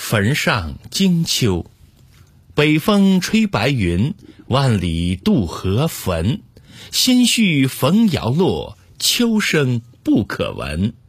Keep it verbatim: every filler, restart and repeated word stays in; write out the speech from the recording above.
坟上惊秋，北风吹白云，万里渡河汾。心绪逢摇落，秋声不可闻。